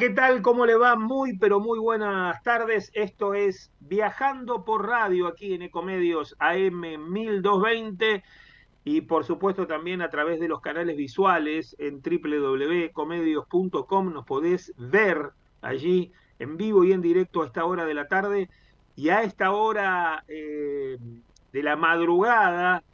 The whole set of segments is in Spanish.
¿qué tal? ¿Cómo le va? Muy, pero muy buenas tardes. Esto es Viajando por Radio aquí en Ecomedios AM 1220 y por supuesto también a través de los canales visuales en www.ecomedios.com. Nos podés ver allí en vivo y en directo a esta hora de la tarde y a esta hora de la madrugada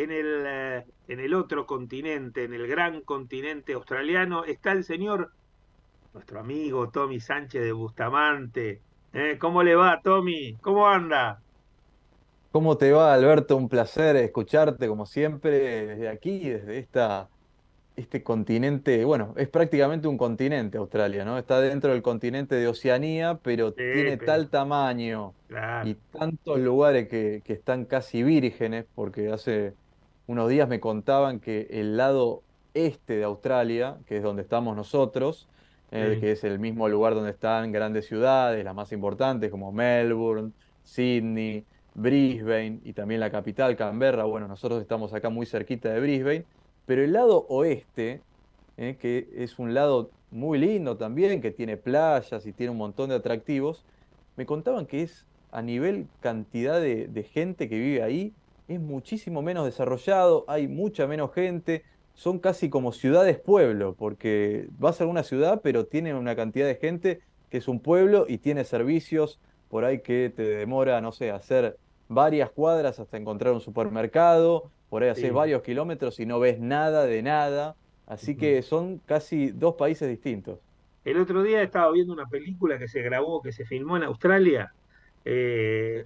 en el otro continente, en el gran continente australiano, está el señor nuestro amigo Tommy Sánchez de Bustamante. ¿Cómo le va, Tommy? ¿Cómo anda? ¿Cómo te va, Alberto? Un placer escucharte como siempre desde aquí, desde este continente. Bueno, es prácticamente un continente Australia, ¿no? Está dentro del continente de Oceanía, pero Sí, tiene pero tal tamaño y claro. tantos lugares que están casi vírgenes, porque hace unos días me contaban que el lado este de Australia, que es donde estamos nosotros, Sí, que es el mismo lugar donde están grandes ciudades, las más importantes como Melbourne, Sydney, Brisbane y también la capital, Canberra. Bueno, nosotros estamos acá muy cerquita de Brisbane, pero el lado oeste, que es un lado muy lindo también, que tiene playas y tiene un montón de atractivos, me contaban que es a nivel cantidad de gente que vive ahí, es muchísimo menos desarrollado, hay mucha menos gente, son casi como ciudades-pueblo, porque vas a una ciudad, pero tiene una cantidad de gente que es un pueblo y tiene servicios por ahí que te demora, no sé, hacer varias cuadras hasta encontrar un supermercado, por ahí haces sí. varios kilómetros y no ves nada de nada. Así Ujú. que son casi dos países distintos. El otro día estaba viendo una película que se grabó, que se filmó en Australia, Sí.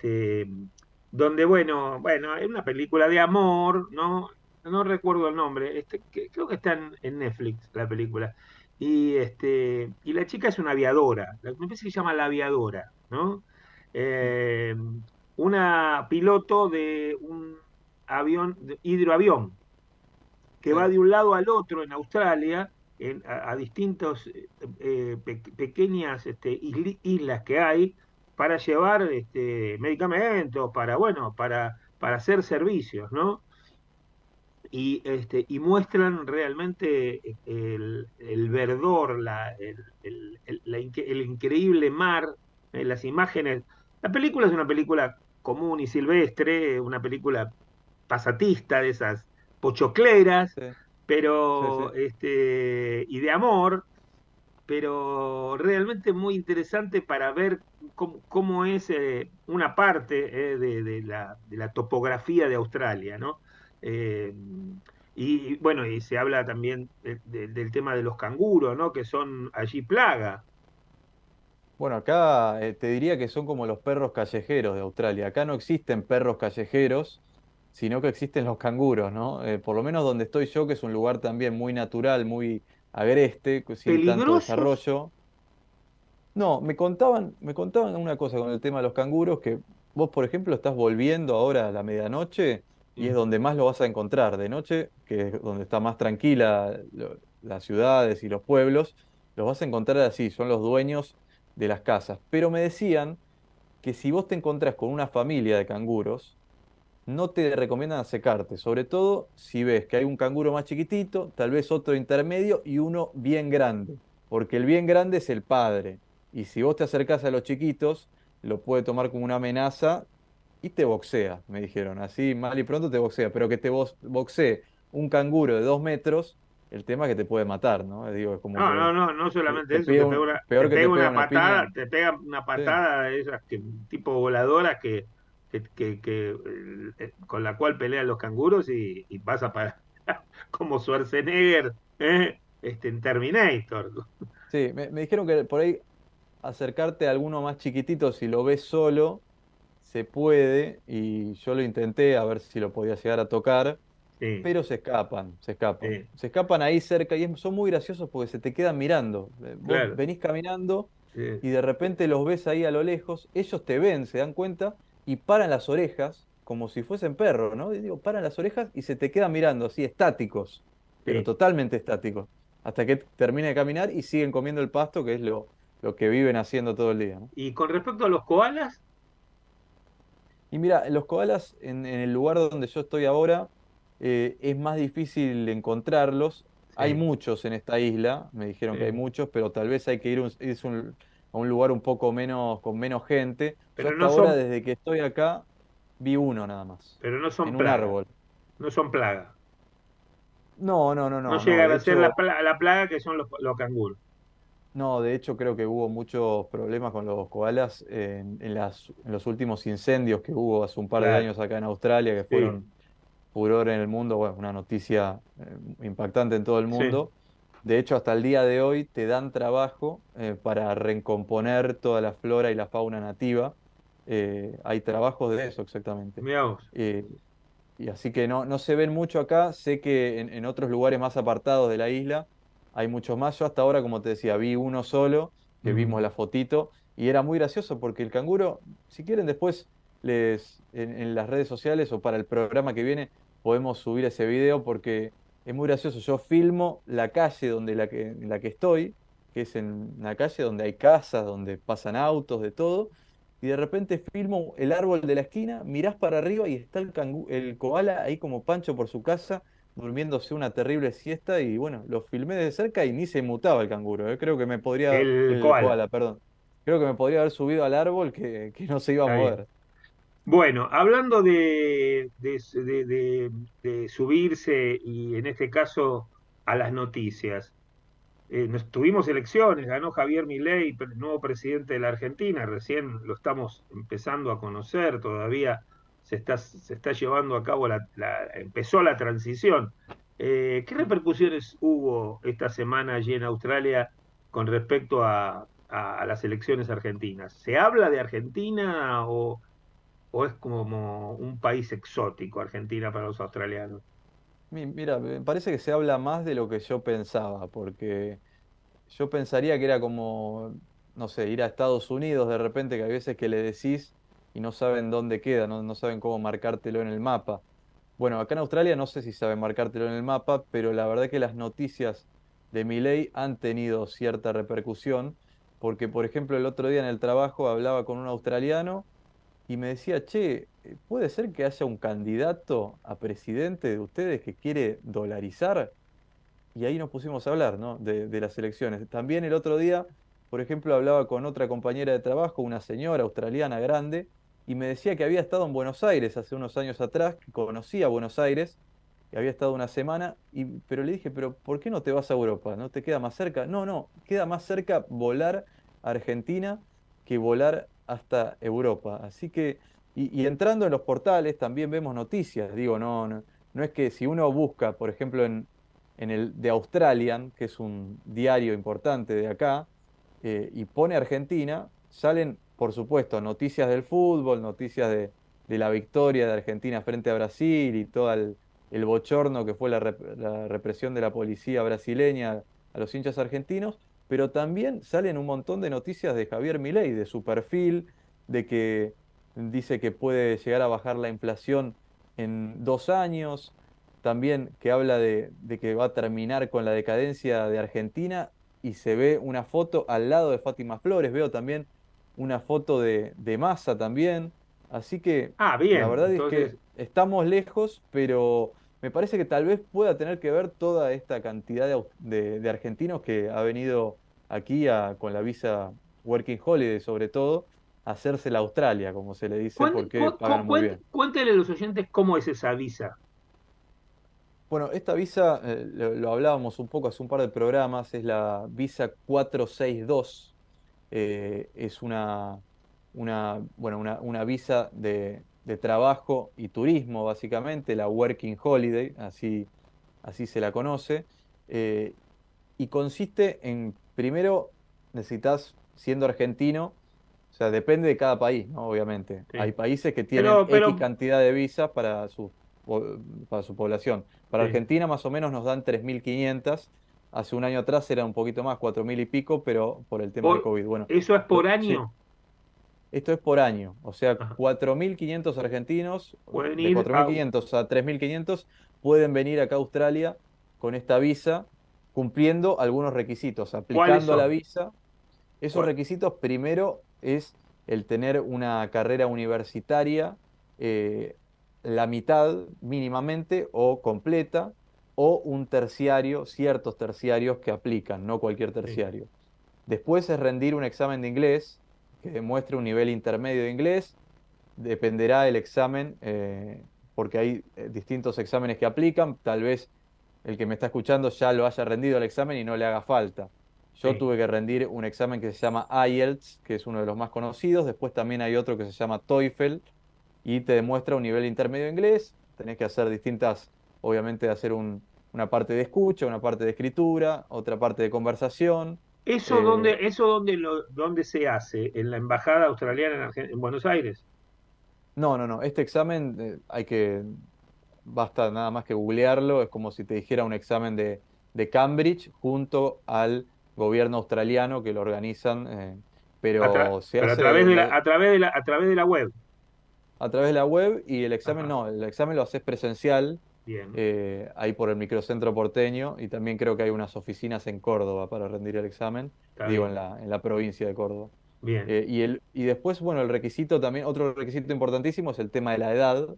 donde, bueno, es una película de amor, ¿no? No recuerdo el nombre, creo que está en Netflix la película. Y la chica es una aviadora, me parece que se llama La Aviadora, ¿no? Eh, una piloto de un avión, de hidroavión, que Sí. va de un lado al otro en Australia, a distintos pequeñas islas que hay para llevar medicamentos, para hacer servicios, ¿no? Y muestran realmente el verdor, el increíble mar, las imágenes. La película es una película común y silvestre, una película pasatista de esas pochocleras, Sí, sí, pero sí. y de amor, pero realmente muy interesante para ver cómo es una parte de la topografía de Australia, ¿no? Eh, y bueno, y se habla también del tema de los canguros, ¿no? Que son allí plaga. Bueno, acá te diría que son como los perros callejeros de Australia. Acá no existen perros callejeros, sino que existen los canguros, ¿no? Por lo menos donde estoy yo, que es un lugar también muy natural, muy agreste, sin tanto Peligrosos. desarrollo. No, me contaban una cosa con el tema de los canguros, que vos, por ejemplo, estás volviendo ahora a la medianoche y es Sí, donde más lo vas a encontrar. De noche, que es donde está más tranquila las ciudades y los pueblos, los vas a encontrar así, son los dueños de las casas. Pero me decían que si vos te encontrás con una familia de canguros, no te recomiendan acercarte, sobre todo si ves que hay un canguro más chiquitito, tal vez otro intermedio y uno bien grande, porque el bien grande es el padre. Y si vos te acercás a los chiquitos, lo puede tomar como una amenaza y te boxea, me dijeron. Así mal y pronto te boxea, pero que te boxee un canguro de 2 metros, el tema es que te puede matar, ¿no? Digo, es como no, no, que no, no solamente te eso, pega te peor que pega te pega una una patada, piña. te pega una Sí, patada de esas tipo voladoras con la cual pelean los canguros y pasa para como Schwarzenegger, en Terminator. sí, me dijeron que por ahí acercarte a alguno más chiquitito si lo ves solo, se puede, y yo lo intenté a ver si lo podía llegar a tocar, Sí, pero se escapan, se escapan. sí, Se escapan ahí cerca y son muy graciosos porque se te quedan mirando. Vos claro. venís caminando Sí, y de repente los ves ahí a lo lejos, ellos te ven, se dan cuenta y paran las orejas como si fuesen perros, ¿no? Y digo, paran las orejas y se te quedan mirando así, estáticos, pero sí. totalmente estáticos, hasta que termine de caminar y siguen comiendo el pasto, que es lo que viven haciendo todo el día, ¿no? Y con respecto a los koalas, Y mira, los koalas en el lugar donde yo estoy ahora es más difícil encontrarlos. Hay Sí, muchos en esta isla, me dijeron que hay sí. muchos, pero tal vez hay que a un lugar un poco menos, con menos gente. Yo Pero hasta no ahora, son, desde que estoy acá, vi uno nada más, pero no son en un plaga. árbol. No son plaga. No, no, no, No no, no. llegan De a ser hecho, la plaga que son los canguros. no, de hecho creo que hubo muchos problemas con los koalas en los últimos incendios que hubo hace un par de Claro, años acá en Australia, que sí, fueron furor en el mundo, bueno, una noticia impactante en todo el sí. mundo. De hecho, hasta el día de hoy te dan trabajo para recomponer toda la flora y la fauna nativa. Hay trabajos de eso exactamente. Mirá vos. Eh, y así que no se ven mucho acá. Sé que en otros lugares más apartados de la isla hay muchos más. Yo hasta ahora, como te decía, vi uno solo, que Mm. vimos la fotito, y era muy gracioso porque el canguro, si quieren después en las redes sociales o para el programa que viene, podemos subir ese video porque es muy gracioso. Yo filmo la calle en la que estoy, que es en una calle donde hay casas, donde pasan autos, de todo y de repente filmo el árbol de la esquina, mirás para arriba y está el koala ahí como pancho por su casa, durmiéndose una terrible siesta y bueno, lo filmé de cerca y ni se mutaba el canguro, Creo que me podría, El el koala. koala, perdón, creo que me podría haber subido al árbol que no se iba a Está bien. mover. Bueno, hablando de subirse y en este caso a las noticias. Tuvimos elecciones, ganó Javier Milei, nuevo presidente de la Argentina, recién lo estamos empezando a conocer, todavía se está llevando a cabo empezó la transición. ¿Qué repercusiones hubo esta semana allí en Australia con respecto a las elecciones argentinas? ¿Se habla de Argentina o es como un país exótico, Argentina para los australianos? Mira, me parece que se habla más de lo que yo pensaba, porque yo pensaría que era como, no sé, ir a Estados Unidos de repente, que hay veces que le decís y no saben dónde queda, no saben cómo marcártelo en el mapa. Bueno, acá en Australia no sé si saben marcártelo en el mapa, pero la verdad que las noticias de Milei han tenido cierta repercusión, porque por ejemplo el otro día en el trabajo hablaba con un australiano y me decía, che, ¿puede ser que haya un candidato a presidente de ustedes que quiere dolarizar? Y ahí nos pusimos a hablar, ¿no? De las elecciones. También el otro día, por ejemplo, hablaba con otra compañera de trabajo, una señora australiana grande, y me decía que había estado en Buenos Aires hace unos años atrás, que conocía Buenos Aires, que había estado una semana, pero le dije, pero ¿por qué no te vas a Europa? ¿No te queda más cerca? No, no, queda más cerca volar a Argentina que volar hasta Europa. Así que, y entrando en los portales también vemos noticias, digo, no es que si uno busca, por ejemplo, en el The Australian, que es un diario importante de acá, y pone Argentina, salen, por supuesto, noticias del fútbol, noticias de la victoria de Argentina frente a Brasil y todo el bochorno que fue la represión de la policía brasileña a los hinchas argentinos, pero también salen un montón de noticias de Javier Milei, de su perfil, de que dice que puede llegar a bajar la inflación en 2 años, también que habla de que va a terminar con la decadencia de Argentina y se ve una foto al lado de Fátima Flores, veo también una foto de Massa también, así que Ah, la bien, verdad es que entonces, estamos lejos, pero me parece que tal vez pueda tener que ver toda esta cantidad de argentinos que ha venido aquí con la visa Working Holiday sobre todo, a hacerse la Australia, como se le dice, porque pagan muy bien. cuéntele a los oyentes cómo es esa visa. Bueno, esta visa, lo hablábamos un poco hace un par de programas, es la visa 462. Es una visa de trabajo y turismo, básicamente, la Working Holiday, así se la conoce. eh, y consiste en, primero, necesitas, siendo argentino, o sea, depende de cada país, ¿no? Obviamente. Hay Sí. países que tienen X Pero, cantidad de visas po- para su población. Para sí. Argentina más o menos nos dan 3.500. Hace un año atrás era un poquito más, 4.000 y pico, pero por el tema del COVID. Bueno, ¿Eso es por sí, año? esto es por año. O sea, Ajá. 4.500 argentinos, Pueden de ir a... 4.500 a 3.500 pueden venir acá a Australia con esta visa, cumpliendo algunos requisitos, ¿Cuáles aplicando a la son? visa. Esos ¿Cuál- requisitos, primero, es el tener una carrera universitaria, eh, la mitad mínimamente o completa. o un terciario, ciertos terciarios que aplican, no cualquier Sí. terciario. Después es rendir un examen de inglés que demuestre un nivel intermedio de inglés. Dependerá el examen, porque hay distintos exámenes que aplican. Tal vez el que me está escuchando ya lo haya rendido el examen y no le haga falta. Yo Sí. tuve que rendir un examen que se llama IELTS, que es uno de los más conocidos. Después también hay otro que se llama TOEFL y te demuestra un nivel intermedio de inglés. Tenés que hacer distintas, obviamente, hacer una parte de escucha, una parte de escritura, otra parte de conversación. Eh, ¿Dónde se hace? ¿En la embajada australiana en Buenos Aires? no, no, no. Este examen basta nada más que googlearlo. Es como si te dijera un examen de Cambridge junto al gobierno australiano que lo organizan, pero se Pero hace a través de la web. a través de la web y el examen Ajá. no, el examen lo haces presencial, Bien, ahí por el microcentro porteño y también creo que hay unas oficinas en Córdoba para rendir el examen, está digo, bien. en la provincia de Córdoba. Bien. Y después, bueno, el requisito también, otro requisito importantísimo es el tema de la edad.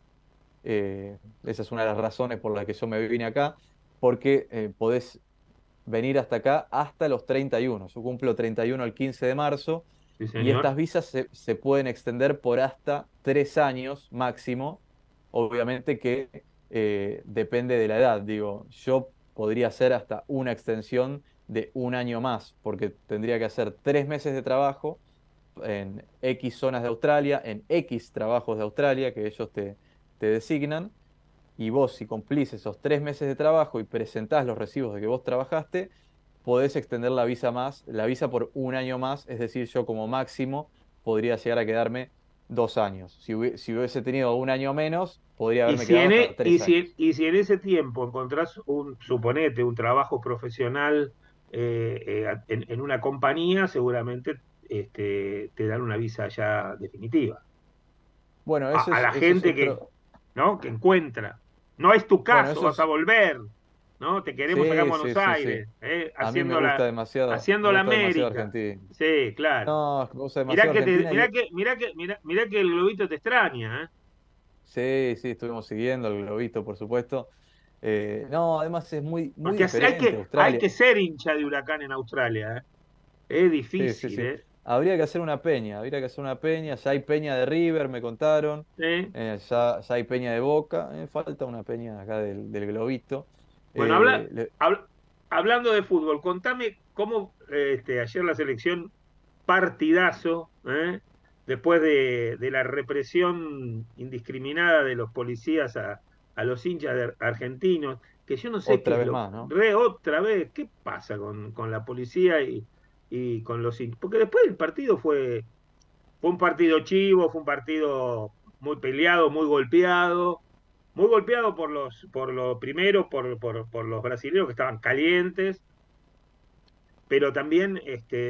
Esa es una de las razones por las que yo me vine acá, porque podés venir hasta acá hasta los 31. Yo cumplo 31 el 15 de marzo Sí, y estas señor. visas se pueden extender por hasta 3 años máximo. Obviamente que depende de la edad. Digo, yo podría hacer hasta una extensión de un año más, porque tendría que hacer 3 meses de trabajo en X zonas de Australia, en X trabajos de Australia que ellos te designan y vos, si cumplís esos 3 meses de trabajo y presentás los recibos de que vos trabajaste, podés extender la visa por un año más, es decir, yo como máximo podría llegar a quedarme 2 años. Si hubiese tenido un año menos, podría Y haberme si quedado en, hasta e- y 3 años. si en ese tiempo encontrás suponete, un trabajo profesional en una compañía, seguramente te dan una visa ya definitiva. Bueno, A la ese es gente que, otro. ¿no? Que encuentra. No es tu Bueno, caso, eso vas a es. volver, ¿no? Te queremos acá en Sí, sí, Buenos sí, sí. Aires, A mí me haciendo la gusta demasiado América. Argentina. Sí, claro. No, me gusta demasiado Argentina y Mirá que el globito te extraña, ¿eh? sí, sí, estuvimos siguiendo el globito, por supuesto. No, además es muy, muy Porque diferente hay Australia. que ser hincha de Huracán en Australia, ¿eh? Es Sí, sí, difícil, sí. ¿eh? Habría que hacer una peña, habría que hacer una peña. Ya hay peña de River, me contaron. ¿Eh? Ya hay peña de Boca. Falta una peña acá del globito. Bueno, Eh, le- hablando de fútbol, contame cómo ayer la selección partidazo, ¿eh? Después de la represión indiscriminada de los policías a los hinchas argentinos, que yo no sé qué Otra es vez más, ¿no? otra vez, qué pasa con la policía y con los hinchas. Porque después el partido fue un partido chivo, fue un partido muy peleado, muy golpeado por lo primero, por los brasileños que estaban calientes, pero también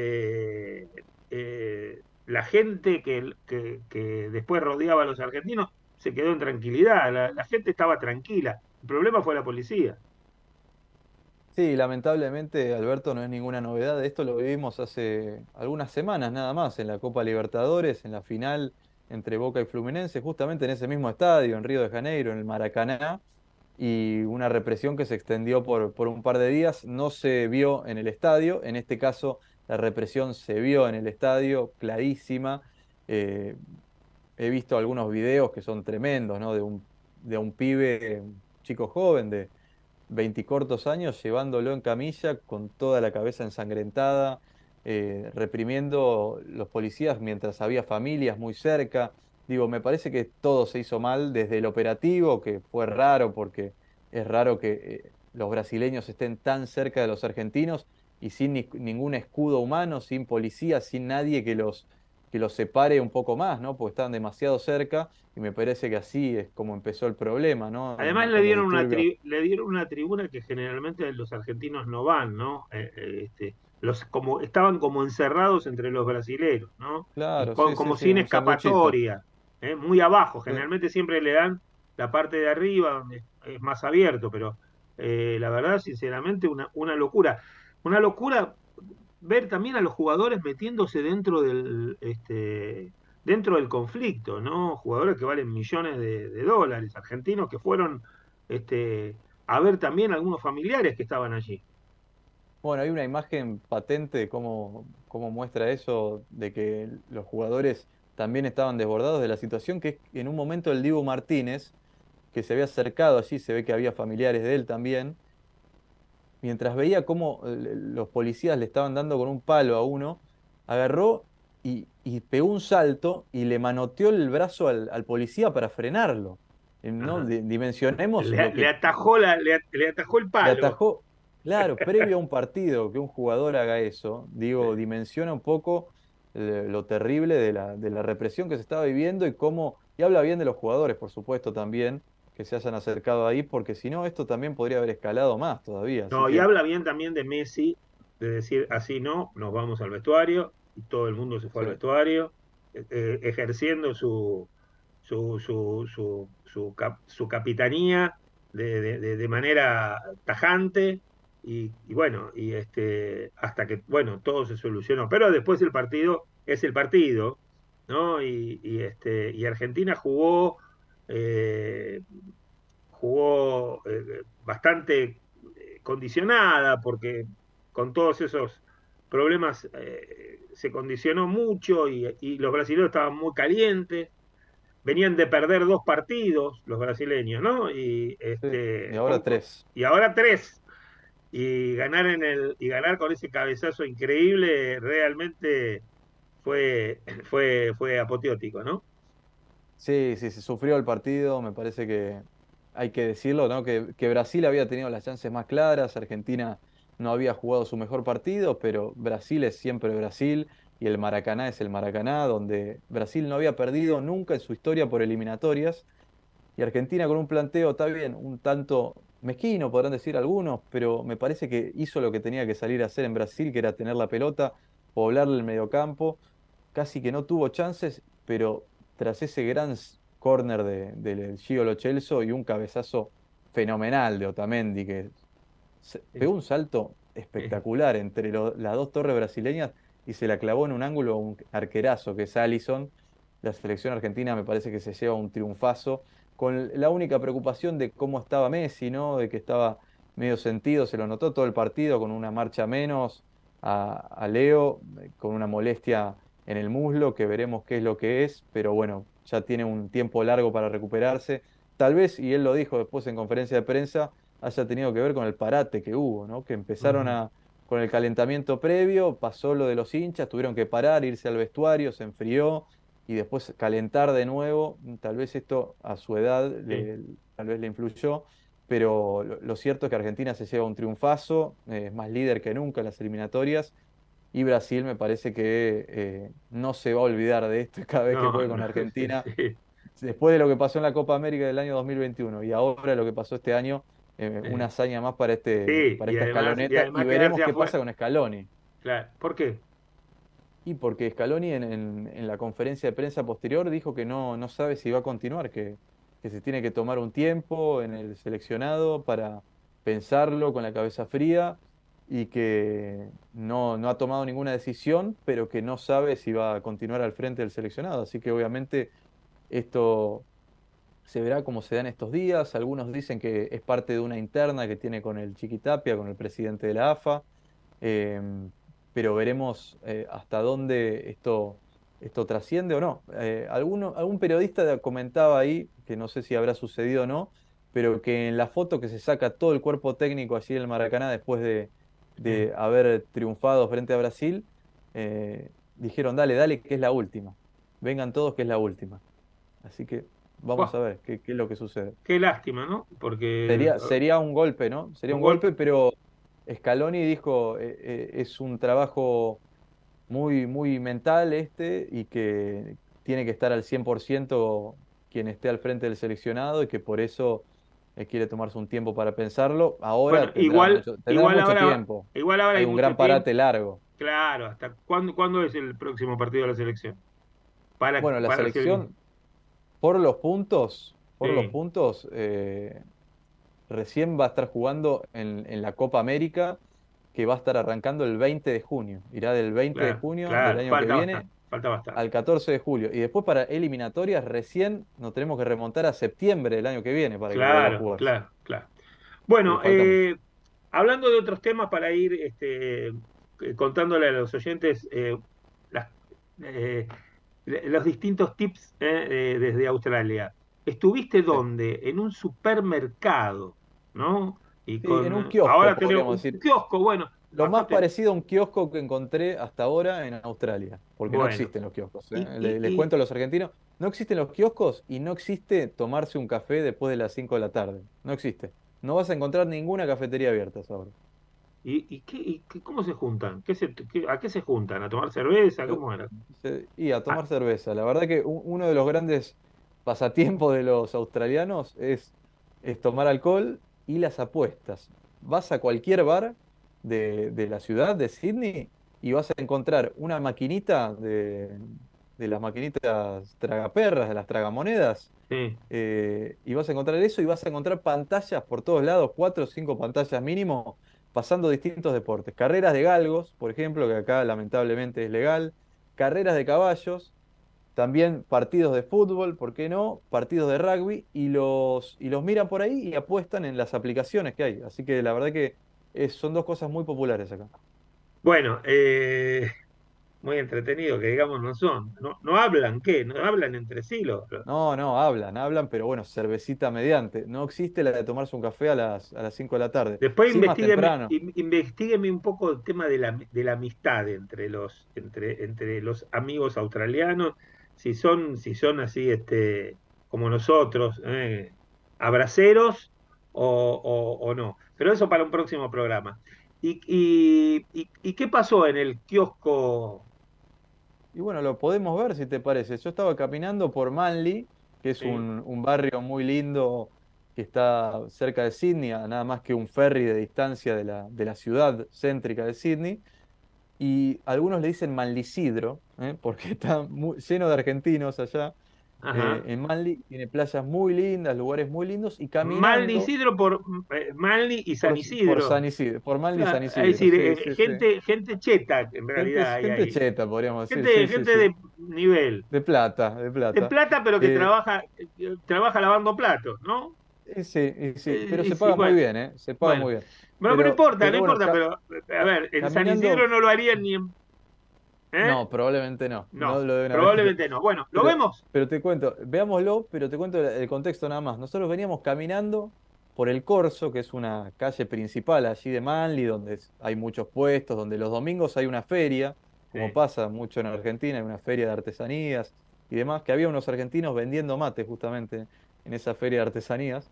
la gente que después rodeaba a los argentinos se quedó en tranquilidad, la gente estaba tranquila. El problema fue la policía. Sí, lamentablemente, Alberto, no es ninguna novedad. Esto lo vivimos hace algunas semanas nada más en la Copa Libertadores, en la final entre Boca y Fluminense, justamente en ese mismo estadio, en Río de Janeiro, en el Maracaná, y una represión que se extendió por un par de días. No se vio en el estadio, en este caso la represión se vio en el estadio, clarísima. Eh, He visto algunos videos que son tremendos, ¿no? De un pibe, un chico joven de 20 cortos años, llevándolo en camilla con toda la cabeza ensangrentada, reprimiendo los policías mientras había familias muy cerca. Digo, me parece que todo se hizo mal desde el operativo, que fue raro porque es raro que los brasileños estén tan cerca de los argentinos y sin ningún escudo humano, sin policía, sin nadie que los separe un poco más, ¿no? Porque estaban demasiado cerca y me parece que así es como empezó el problema, ¿no? Además Con los disturbios. le dieron una tribuna que generalmente los argentinos no van, ¿no? Estaban como encerrados entre los brasileros, ¿no? Claro, sí, sí, Como sí, sin un sanguchito. escapatoria, ¿eh? Muy abajo. Sí. Generalmente siempre le dan la parte de arriba donde es más abierto, pero la verdad, sinceramente, una locura. Una locura ver también a los jugadores metiéndose dentro del conflicto, ¿no? Jugadores que valen millones de dólares, argentinos que fueron este, a ver también algunos familiares que estaban allí. Bueno, hay una imagen patente de cómo muestra eso, de que los jugadores también estaban desbordados de la situación, que es que en un momento el Dibu Martínez, que se había acercado allí, se ve que había familiares de él también, mientras veía cómo los policías le estaban dando con un palo a uno, agarró y pegó un salto y le manoteó el brazo al policía para frenarlo. ¿No? Ajá. Dimensionemos lo Le que atajó le atajó el le palo. atajó, claro, previo a un partido, que un jugador haga eso, digo, dimensiona un poco lo terrible de la represión que se estaba viviendo y cómo, y habla bien de los jugadores, por supuesto, también, que se hayan acercado ahí, porque si no, esto también podría haber escalado más todavía. Así No, y que, habla bien también de Messi, de decir así no, nos vamos al vestuario, y todo el mundo se fue al sí, vestuario, ejerciendo su capitanía de manera tajante, y bueno, hasta que, bueno, todo se solucionó. Pero después el partido es el partido, ¿no? Y Argentina eh, jugó bastante condicionada, porque con todos esos problemas se condicionó mucho, y los brasileños estaban muy calientes, venían de perder dos partidos los brasileños, ¿no? sí, y ahora tres. Y ahora tres. Y ganar con ese cabezazo increíble realmente fue apoteótico, ¿no? Sí, sí, se sufrió el partido, me parece que hay que decirlo, ¿no? Que Brasil había tenido las chances más claras, Argentina no había jugado su mejor partido, pero Brasil es siempre Brasil y el Maracaná es el Maracaná, donde Brasil no había perdido nunca en su historia por eliminatorias y Argentina con un planteo, está bien, un tanto mezquino, podrán decir algunos, pero me parece que hizo lo que tenía que salir a hacer en Brasil, que era tener la pelota, poblarle el mediocampo, casi que no tuvo chances, pero tras ese gran córner del Gio Lo Celso y un cabezazo fenomenal de Otamendi, que Es- pegó un salto es- espectacular entre las dos torres brasileñas y se la clavó en un ángulo a un arquerazo que es Alisson. La selección argentina me parece que se lleva un triunfazo, con la única preocupación de cómo estaba Messi, ¿no? De que estaba medio sentido, se lo notó todo el partido con una marcha menos a Leo, con una molestia en el muslo, que veremos qué es lo que es, pero bueno, ya tiene un tiempo largo para recuperarse. Tal vez, y él lo dijo después en conferencia de prensa, haya tenido que ver con el parate que hubo, ¿no? Que empezaron Ujú, con el calentamiento previo, pasó lo de los hinchas, tuvieron que parar, irse al vestuario, se enfrió y después calentar de nuevo. Tal vez esto a su edad sí. tal vez le influyó, pero lo cierto es que Argentina se lleva un triunfazo, es más líder que nunca en las eliminatorias. Y Brasil me parece que no se va a olvidar de esto cada vez que No, juegue con no, sí, Argentina sí. después de lo que pasó en la Copa América del año 2021 y ahora lo que pasó este año, una Eh, hazaña más sí, para esta y escaloneta y además veremos quedarse qué afuera. pasa con Scaloni. Claro. ¿Por qué? Y porque Scaloni en la conferencia de prensa posterior dijo que no sabe si va a continuar, que se tiene que tomar un tiempo en el seleccionado para pensarlo con la cabeza fría y que no ha tomado ninguna decisión, pero que no sabe si va a continuar al frente del seleccionado. Así que obviamente esto se verá cómo se dan estos días. Algunos dicen que es parte de una interna que tiene con el Chiquitapia, con el presidente de la AFA, pero veremos hasta dónde esto trasciende o no. Algún periodista comentaba ahí, que no sé si habrá sucedido o no, pero que en la foto que se saca todo el cuerpo técnico allí en el Maracaná después Eh, de haber triunfado frente a Brasil, dijeron, dale, dale, que es la última. Vengan todos, que es la última. Así que vamos buah, a ver qué es lo que sucede. qué lástima, ¿no? Porque Sería un golpe, ¿no? Sería un un golpe. golpe, pero Scaloni dijo, es un trabajo muy mental este y que tiene que estar al 100% quien esté al frente del seleccionado y que por eso quiere tomarse un tiempo para pensarlo. Bueno, Ahora tendrá mucho tiempo. igual ahora Hay hay un mucho gran tiempo. parate largo. Claro, ¿hasta cuándo es el próximo partido de la selección? Bueno, la Para hacer. selección, por los Sí, puntos, recién va a estar jugando en la Copa América, que va a estar arrancando el 20 de junio. Irá del 20 de claro, junio del claro, año que viene falta bastante. al 14 de julio. Y después para eliminatorias recién nos tenemos que remontar a septiembre del año que viene para que vuelva a Claro, jugarse. claro, claro. Bueno, falta mucho. hablando de otros temas para ir contándole a los oyentes las- eh, los distintos tips desde Australia. ¿Estuviste Sí. dónde? En un supermercado, ¿no? Y Sí, en un ahora kiosco, tenemos podríamos un decir. kiosco, bueno, Lo más bastante parecido a un kiosco que encontré hasta ahora en Australia, porque no bueno. existen los kioscos, ¿eh? Y, y, Les y, cuento a los argentinos, no existen los kioscos y no existe tomarse un café después de las 5 de la tarde. No existe. No vas a encontrar ninguna cafetería abierta ahora. ¿Cómo se juntan? ¿A qué se juntan? ¿A tomar cerveza? Se- ¿Cómo era? Y a Ah, tomar cerveza. La verdad que uno de los grandes pasatiempos de los australianos es tomar alcohol y las apuestas. Vas a cualquier bar de la ciudad de Sydney y vas a encontrar una maquinita de las maquinitas tragaperras, de las tragamonedas, sí, y vas a encontrar eso y vas a encontrar pantallas por todos lados, 4 o 5 pantallas mínimo, pasando distintos deportes. Carreras de galgos, por ejemplo, que acá lamentablemente es legal. Carreras de caballos, también partidos de fútbol, ¿por qué no? Partidos de rugby, y los miran por ahí y apuestan en las aplicaciones que hay. Así que la verdad que son dos cosas muy populares acá. bueno, muy entretenido, que digamos no son. No, no hablan, ¿qué? No hablan entre sí No, no, hablan, pero bueno, cervecita mediante. No existe la de tomarse un café a las 5 de la tarde. Después Sí, más temprano. investigueme un poco el tema de la amistad entre los amigos australianos, si son así como nosotros, abraceros o no. Pero eso para un próximo programa. ¿Y qué pasó en el kiosco? Y bueno, lo podemos ver si te parece. Yo estaba caminando por Manly, que es Sí, un barrio muy lindo que está cerca de Sydney, a nada más que un ferry de distancia de la ciudad céntrica de Sydney. Y algunos le dicen Manlisidro, porque está lleno de argentinos allá. ajá. En Manly tiene playas muy lindas, lugares muy lindos, y Malni caminando Isidro por Malni y San por Isidro. San Isidro, por Manly y Claro, San es Isidro, decir, sí, sí, sí. gente cheta en Gente, realidad hay gente ahí. cheta, podríamos decir, Gente, sí, sí, gente sí. de nivel. De plata, de De plata. plata, pero que Eh, trabaja lavando platos, ¿no? y sí, pero Y se sí, paga muy bueno, bien, ¿eh? Se paga bueno. muy bien. Bueno, pero no Pero, importa, no pero bueno, importa, pero a ver, en San Isidro caminando, no lo harían ni en. ¿Eh? no, probablemente no, no No, lo deben haber hecho. probablemente no. Bueno, ¿lo Pero, vemos? pero te cuento, veámoslo, pero te cuento el contexto nada más. Nosotros veníamos caminando por el Corso, que es una calle principal allí de Manly, donde hay muchos puestos, donde los domingos hay una feria, como Sí. pasa mucho en Argentina, hay una feria de artesanías y demás, que había unos argentinos vendiendo mate justamente en esa feria de artesanías.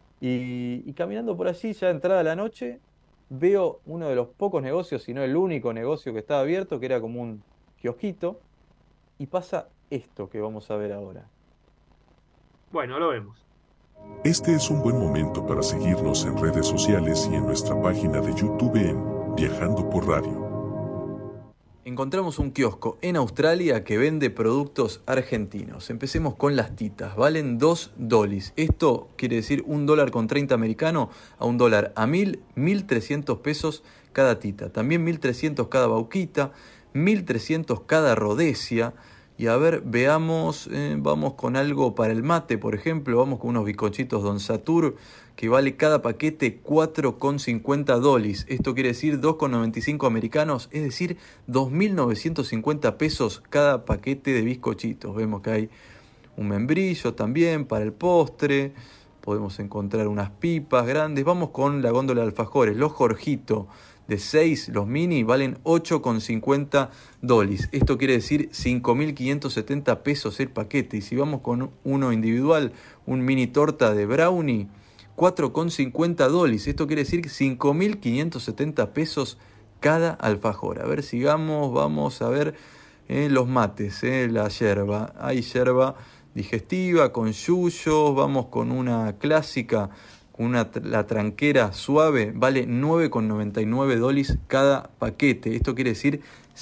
Y caminando por allí, ya entrada la noche, veo uno de los pocos negocios, si no el único negocio que estaba abierto, que era como un kiosquito, y pasa esto que vamos a ver ahora. Bueno, lo vemos. Este es un buen momento para seguirnos en redes sociales y en nuestra página de YouTube en Viajando por Radio. Encontramos un kiosco en Australia que vende productos argentinos. Empecemos con las titas. Valen 2 dólares. Esto quiere decir $1.30 americano a $1 a 1.300 pesos cada tita. También 1.300 cada bauquita, 1.300 cada rodesia. Y a ver, veamos, vamos con algo para el mate, por ejemplo. Vamos con unos bizcochitos Don Satur, que vale cada paquete 4,50 dólares. Esto quiere decir 2,95 americanos, es decir, 2.950 pesos cada paquete de bizcochitos. Vemos que hay un membrillo también para el postre. Podemos encontrar unas pipas grandes. Vamos con la góndola de alfajores, los Jorgito de 6, los mini, valen 8,50 dólares. Esto quiere decir 5.570 pesos el paquete. Y si vamos con uno individual, un mini torta de brownie, 4,50 dólares. Esto quiere decir 5.570 pesos cada alfajor. A ver, sigamos, vamos a ver los mates, la yerba. Hay yerba digestiva con yuyos, vamos con una clásica, con la tranquera suave, vale 9,99 dólares cada paquete. Esto quiere decir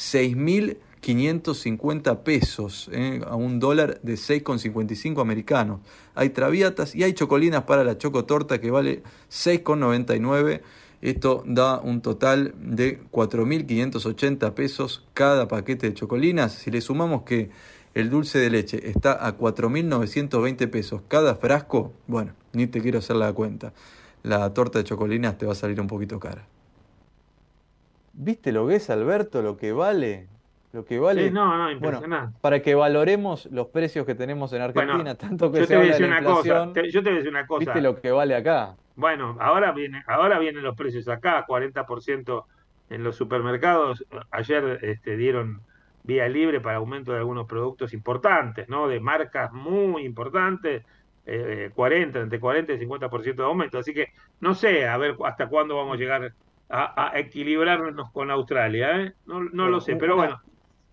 6.550 pesos, a $1 de 6,55 americanos. Hay traviatas y hay chocolinas para la chocotorta que vale 6,99. Esto da un total de 4.580 pesos cada paquete de chocolinas. Si le sumamos que el dulce de leche está a 4.920 pesos cada frasco, bueno, ni te quiero hacer la cuenta. la torta de chocolinas te va a salir un poquito cara. ¿Viste lo que es, Alberto? Lo que vale. Lo que Sí, vale. no, Bueno, impresionante. para que valoremos los precios que tenemos en Bueno, Argentina, tanto que yo se te voy a habla de decir la una cosa, inflación, yo te voy a decir una ¿viste cosa. lo que vale acá? Bueno, ahora vienen los precios acá, 40% en los supermercados. Ayer dieron vía libre para aumento de algunos productos importantes, ¿no? De marcas muy importantes, 40, entre 40 y 50% de aumento. Así que no sé, a ver hasta cuándo vamos a llegar a equilibrarnos con Australia, ¿eh? No lo Bueno, sé, pero bueno.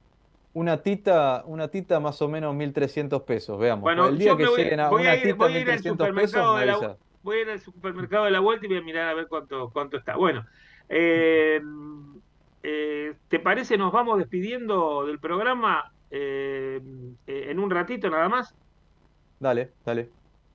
una tita más o menos 1.300 pesos, veamos. Bueno, El día yo que me lleguen a una tita voy a ir al 1.300 pesos, supermercado me avisas. voy a ir al supermercado de la vuelta y voy a mirar a ver cuánto está. Bueno, eh, ¿te parece? Nos vamos despidiendo del programa en un ratito nada más. Dale, dale.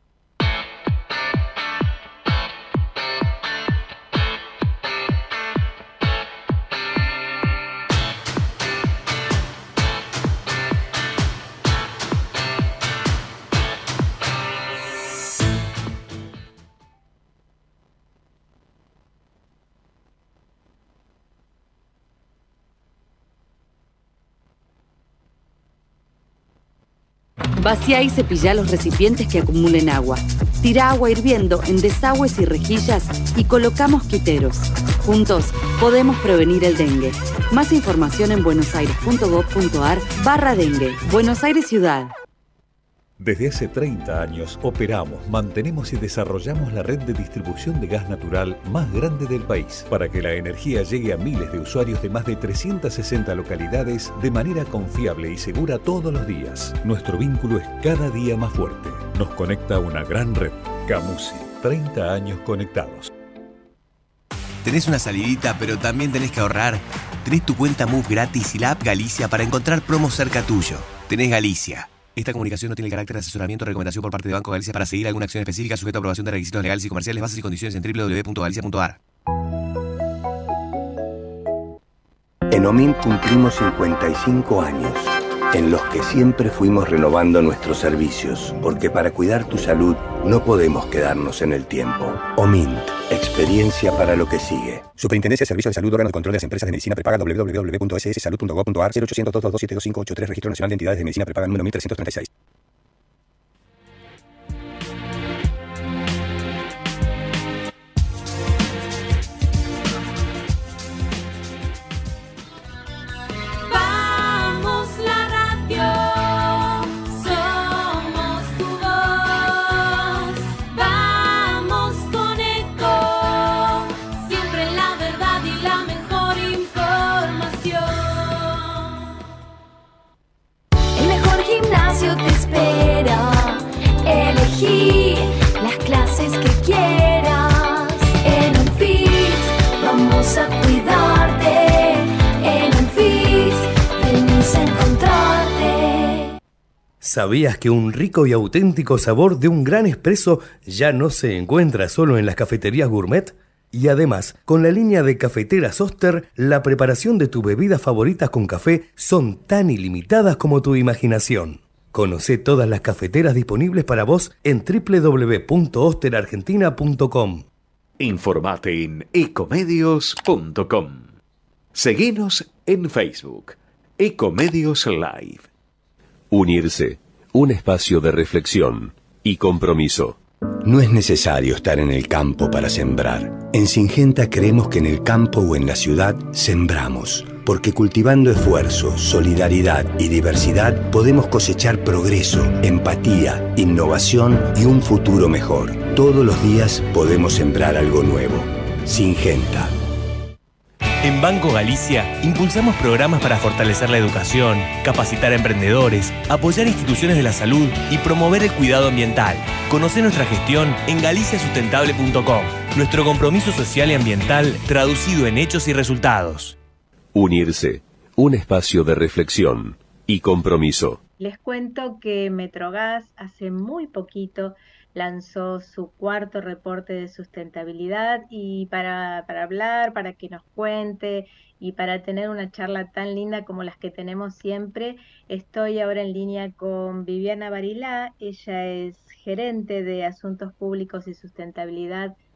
Vacía y cepilla los recipientes que acumulen agua. Tira agua hirviendo en desagües y rejillas y coloca mosquiteros. Juntos podemos prevenir el dengue. Más información en buenosaires.gov.ar/dengue. Buenos Aires Ciudad. Desde hace 30 años operamos, mantenemos y desarrollamos la red de distribución de gas natural más grande del país para que la energía llegue a miles de usuarios de más de 360 localidades de manera confiable y segura todos los días. Nuestro vínculo es cada día más fuerte. Nos conecta a una gran red. Camusi, 30 años conectados. ¿Tenés una salidita pero también tenés que ahorrar? Tenés tu cuenta Move gratis y la app Galicia para encontrar promos cerca tuyo. Tenés Galicia. Esta comunicación no tiene el carácter de asesoramiento o recomendación por parte de Banco Galicia para seguir alguna acción específica sujeta a aprobación de requisitos legales y comerciales, bases y condiciones en www.galicia.ar. En OMINT cumplimos 55 años, en los que siempre fuimos renovando nuestros servicios, porque para cuidar tu salud no podemos quedarnos en el tiempo. OMINT, experiencia para lo que sigue. Superintendencia de Servicios de Salud, órgano de control de las empresas de medicina prepaga, www.sssalud.gov.ar, 0800 222 7253, Registro Nacional de Entidades de Medicina Prepaga número 1336. Vamos la radio, somos tu voz. Vamos con Eco, siempre la verdad y la mejor información. El mejor gimnasio te espera. Elegí las clases que quieras. En Unfit vamos a cuidarte. En Unfit venís a encontrarte. ¿Sabías que un rico y auténtico sabor de un gran espresso ya no se encuentra solo en las cafeterías gourmet? Y además, con la línea de cafeteras Oster, la preparación de tus bebidas favoritas con café son tan ilimitadas como tu imaginación. Conoce todas las cafeteras disponibles para vos en www.osterargentina.com. Informate en ecomedios.com. Seguinos en Facebook, Ecomedios Live. Unirse, un espacio de reflexión y compromiso. No es necesario estar en el campo para sembrar. En Syngenta creemos que en el campo o en la ciudad sembramos, porque cultivando esfuerzo, solidaridad y diversidad podemos cosechar progreso, empatía, innovación y un futuro mejor. Todos los días podemos sembrar algo nuevo. Syngenta. En Banco Galicia impulsamos programas para fortalecer la educación, capacitar a emprendedores, apoyar instituciones de la salud y promover el cuidado ambiental. Conoce nuestra gestión en galiciasustentable.com. Nuestro compromiso social y ambiental traducido en hechos y resultados. Unirse, un espacio de reflexión y compromiso. Les cuento que Metrogas hace muy poquito lanzó su cuarto reporte de sustentabilidad y para hablar, para que nos cuente y para tener una charla tan linda como las que tenemos siempre, estoy ahora en línea con Viviana Barilá. Ella es gerente de Asuntos Públicos y Sustentabilidad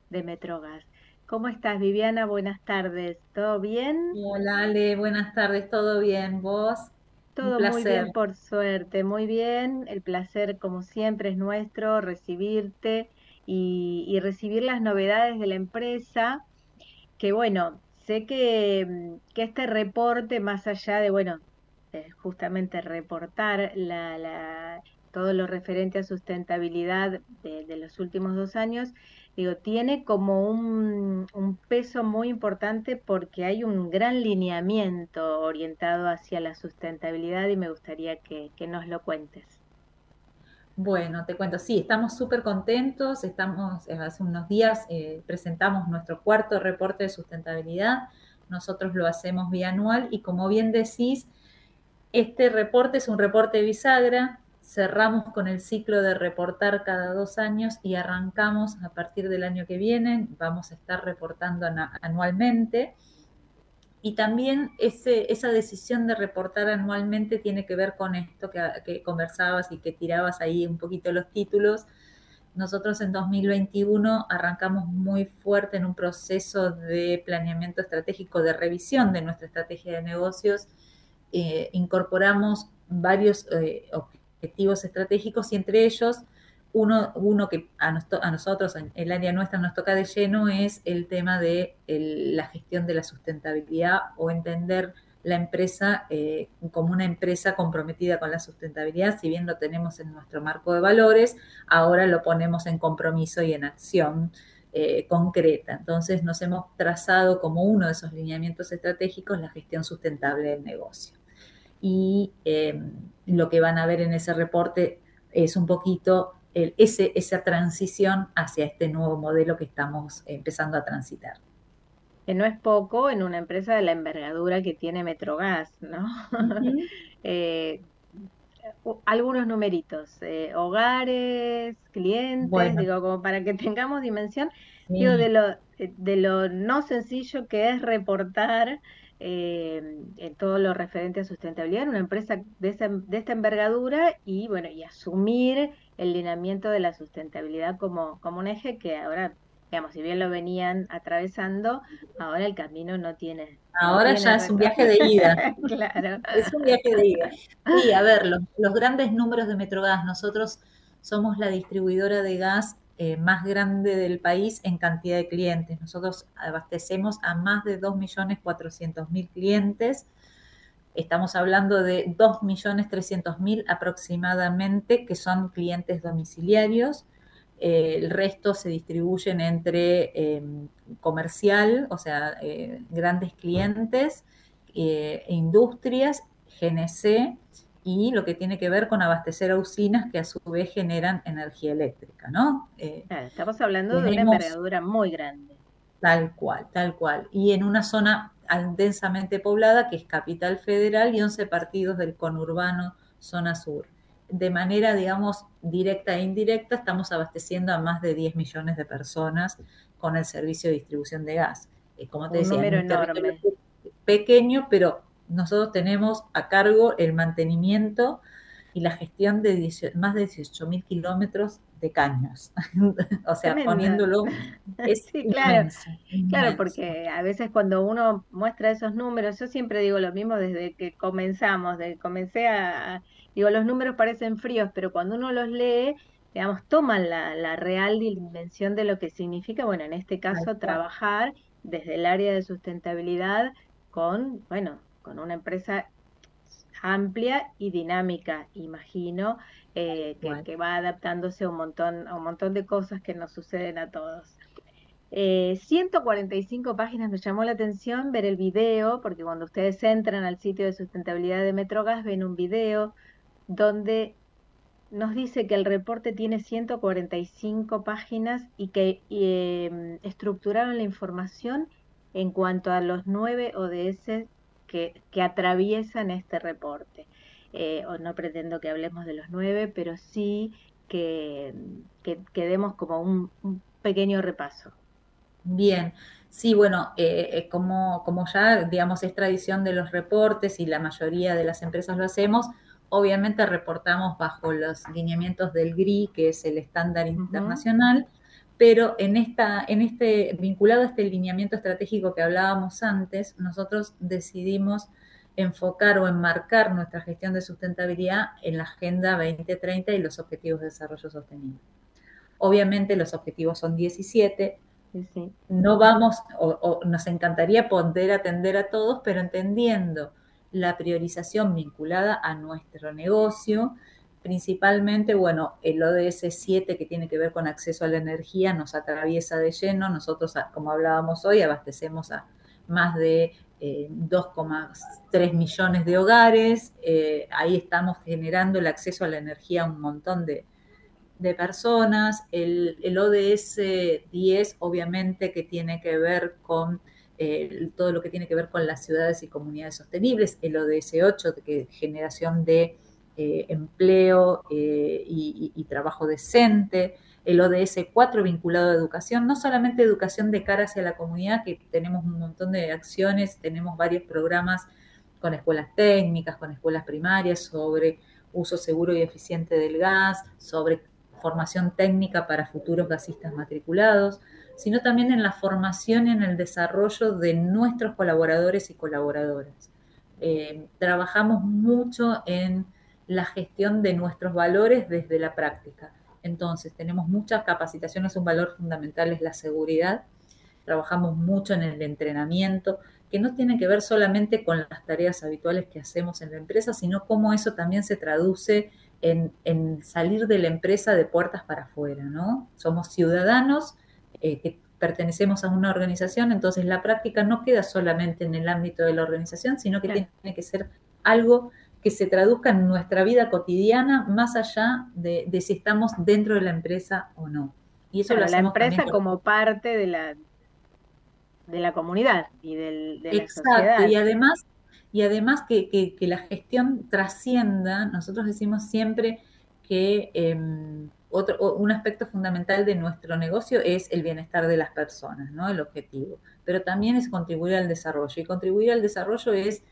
de Metrogas. ¿Cómo estás, Viviana? Buenas tardes. ¿Todo bien? Hola Ale, buenas tardes, ¿todo bien? ¿Vos? Un Todo muy placer. bien, por suerte, muy bien. El placer, como siempre, es nuestro, recibirte y recibir las novedades de la empresa, que bueno, sé que este reporte, más allá de, bueno, justamente reportar todo lo referente a sustentabilidad de los últimos 2 años, digo, tiene como un peso muy importante porque hay un gran lineamiento orientado hacia la sustentabilidad y me gustaría que nos lo cuentes. Bueno, te cuento, sí, estamos súper contentos, hace unos días presentamos nuestro cuarto reporte de sustentabilidad, nosotros lo hacemos bianual y como bien decís, este reporte es un reporte bisagra, cerramos con el ciclo de reportar cada 2 años y arrancamos a partir del año que viene, vamos a estar reportando anualmente. Y también esa decisión de reportar anualmente tiene que ver con esto que conversabas y que tirabas ahí un poquito los títulos. Nosotros en 2021 arrancamos muy fuerte en un proceso de planeamiento estratégico, de revisión de nuestra estrategia de negocios. Incorporamos varios objetivos estratégicos y entre ellos uno que a nosotros, en el área nuestra, nos toca de lleno es el tema de la gestión de la sustentabilidad o entender la empresa como una empresa comprometida con la sustentabilidad. Si bien lo tenemos en nuestro marco de valores, ahora lo ponemos en compromiso y en acción concreta. Entonces nos hemos trazado como uno de esos lineamientos estratégicos la gestión sustentable del negocio. Y lo que van a ver en ese reporte es un poquito esa transición hacia este nuevo modelo que estamos empezando a transitar. Que no es poco en una empresa de la envergadura que tiene Metrogas, ¿no? Algunos numeritos, hogares, clientes, Bueno, digo, como para que tengamos dimensión, digo, sí. de lo no sencillo que es reportar en todo lo referente a sustentabilidad en una empresa de esta envergadura y bueno, y asumir el lineamiento de la sustentabilidad como un eje que ahora, digamos, si bien lo venían atravesando, ahora el camino no Ahora tiene ya es un retorno. viaje de ida. Claro. Es un viaje de ida. Sí, a ver, los grandes números de Metrogas. Nosotros somos la distribuidora de gas más grande del país en cantidad de clientes. Nosotros abastecemos a más de 2.400.000 clientes. Estamos hablando de 2.300.000 aproximadamente que son clientes domiciliarios. El resto se distribuyen entre comercial, o sea, grandes clientes, industrias, GNC y lo que tiene que ver con abastecer a usinas que a su vez generan energía eléctrica, ¿no? Claro, estamos hablando de una Tenemos envergadura muy grande. Tal cual, tal cual. Y en una zona densamente poblada que es Capital Federal y 11 partidos del conurbano zona sur. De manera, digamos, directa e indirecta, estamos abasteciendo a más de 10 millones de personas con el servicio de distribución de gas. Como te Un decía, en número un territorio enorme. pequeño, pero nosotros tenemos a cargo el mantenimiento y la gestión de más de 18.000 kilómetros de caños. O sea, Tremendo. poniéndolo, es Sí, claro, inmenso, claro, inmenso. porque a veces cuando uno muestra esos números, yo siempre digo lo mismo desde que comenzamos, digo, los números parecen fríos, pero cuando uno los lee, digamos, toman la real dimensión de lo que significa, bueno, en este Tal caso, cual. trabajar desde el área de sustentabilidad bueno, con una empresa amplia y dinámica, imagino, que va adaptándose a un montón de cosas que nos suceden a todos. 145 páginas, me llamó la atención ver el video, porque cuando ustedes entran al sitio de sustentabilidad de Metrogas, ven un video donde nos dice que el reporte tiene 145 páginas y que estructuraron la información en cuanto a los 9 ODS que atraviesan este reporte. O no pretendo que hablemos de los 9, pero sí que demos como un pequeño repaso. Bien, sí, bueno, como ya, digamos, es tradición de los reportes y la mayoría de las empresas lo hacemos, obviamente reportamos bajo los lineamientos del GRI, que es el estándar internacional, pero vinculado a este lineamiento estratégico que hablábamos antes, nosotros decidimos enfocar o enmarcar nuestra gestión de sustentabilidad en la Agenda 2030 y los Objetivos de Desarrollo Sostenible. Obviamente los objetivos son 17, Sí. no vamos, o nos encantaría poder atender a todos, pero entendiendo la priorización vinculada a nuestro negocio, principalmente, bueno, el ODS 7 que tiene que ver con acceso a la energía nos atraviesa de lleno. Nosotros, como hablábamos hoy, abastecemos a más de 2,3 millones de hogares. Ahí estamos generando el acceso a la energía a un montón de personas. El ODS 10, obviamente, que tiene que ver con todo lo que tiene que ver con las ciudades y comunidades sostenibles. El ODS 8, que generación de empleo y trabajo decente. El ODS 4 vinculado a educación, no solamente educación de cara hacia la comunidad, que tenemos un montón de acciones, tenemos varios programas con escuelas técnicas, con escuelas primarias, sobre uso seguro y eficiente del gas, sobre formación técnica para futuros gasistas matriculados, sino también en la formación y en el desarrollo de nuestros colaboradores y colaboradoras. Trabajamos mucho en la gestión de nuestros valores desde la práctica. Entonces, tenemos muchas capacitaciones, un valor fundamental es la seguridad. Trabajamos mucho en el entrenamiento, que no tiene que ver solamente con las tareas habituales que hacemos en la empresa, sino cómo eso también se traduce en salir de la empresa de puertas para afuera, ¿no? Somos ciudadanos que pertenecemos a una organización, entonces la práctica no queda solamente en el ámbito de la organización, sino que tiene que ser algo que se traduzca en nuestra vida cotidiana, más allá de si estamos dentro de la empresa o no. Y eso lo hacemos la empresa también como parte de la comunidad y de la Exacto, sociedad. y además que la gestión trascienda. Nosotros decimos siempre que un aspecto fundamental de nuestro negocio es el bienestar de las personas, ¿no? El objetivo, pero también es contribuir al desarrollo, y contribuir al desarrollo es